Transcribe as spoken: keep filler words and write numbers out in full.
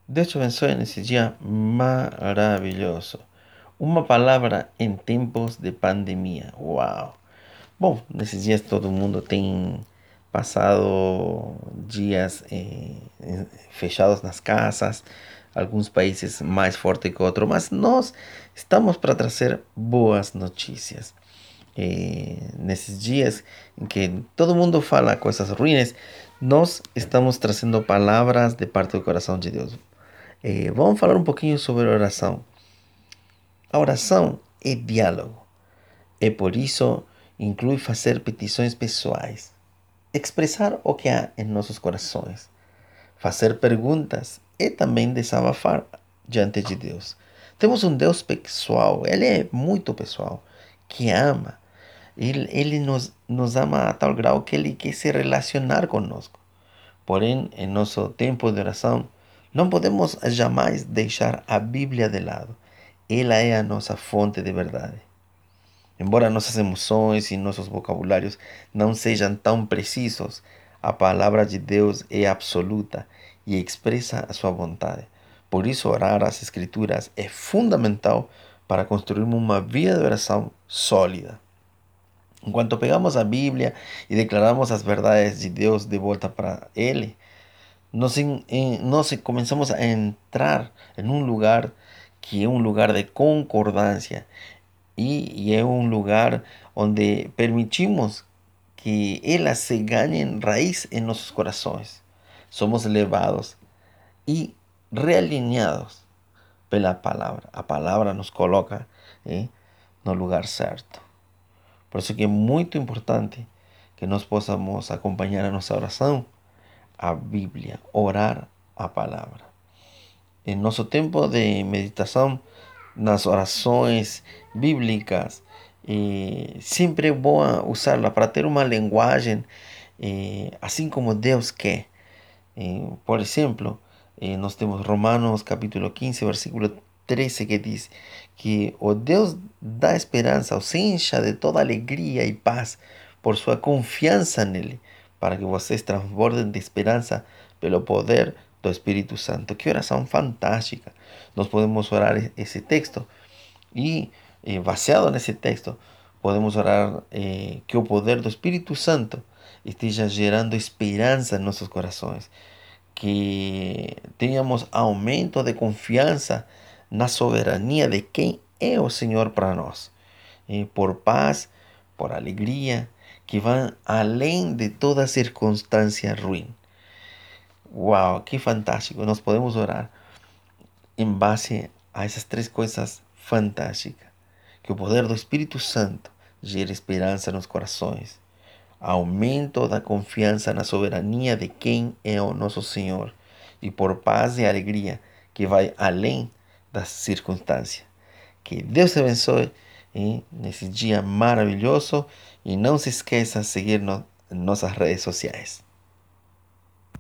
Deus te abençoe nesse dia maravilhoso. Uma palavra em tempos de pandemia. Uau! Bom, nesses dias todo mundo tem passado dias eh, eh, fechados nas casas, alguns países mais forte que outros, mas nós estamos para trazer boas notícias. Eh, nesses dias em que todo mundo fala coisas ruins, nós estamos trazendo palavras de parte do coração de Deus. Eh, vamos falar um pouquinho sobre oração. A oração é diálogo. É por isso inclui fazer petições pessoais, expressar o que há em nossos corações, fazer perguntas e também desabafar diante de Deus. Temos um Deus pessoal, Ele é muito pessoal, que ama. Ele, ele nos, nos ama a tal grau que Ele quer se relacionar conosco. Porém, em nosso tempo de oração, não podemos jamais deixar a Bíblia de lado. Ela é a nossa fonte de verdade. Embora nossas emoções e nossos vocabulários não sejam tão precisos, a palavra de Deus é absoluta e expressa a sua vontade. Por isso, orar as Escrituras é fundamental para construirmos uma vida de oração sólida. Enquanto pegamos a Bíblia e declaramos as verdades de Deus de volta para Ele, nós, em, em, nós começamos a entrar em um lugar que é um lugar de concordância e, e é um lugar onde permitimos que elas se ganhem raiz em nossos corações. Somos levados e realinhados pela palavra. A palavra nos coloca eh, no lugar certo. Por isso que é muito importante que nós possamos acompanhar a nossa oração, a Bíblia, orar a palavra. Em nosso tempo de meditação, nas orações bíblicas, eh, sempre é bom usá-la para ter uma linguagem eh, assim como Deus quer. Eh, por exemplo, eh, nós temos Romanos capítulo quinze, versículo treze, que diz que o Deus da esperança os encha de toda alegria e paz por sua confiança nele, para que vocês transbordem de esperança pelo poder do Espírito Santo. Que oração fantástica! Nós podemos orar esse texto e, eh, baseado nesse texto, podemos orar eh, que o poder do Espírito Santo esteja gerando esperança em nossos corações, que tenhamos aumento de confiança na soberania de quem é o Senhor para nós, eh, por paz, por alegria, que vão além de toda circunstância ruim. Uau, que fantástico! Nós podemos orar em base a essas três coisas fantásticas. Que o poder do Espírito Santo gere esperança nos corações, aumento da confiança na soberania de quem é o nosso Senhor e por paz e alegria que vai além das circunstâncias. Que Deus te abençoe hein, nesse dia maravilhoso e não se esqueça de seguir-nos em nossas redes sociais.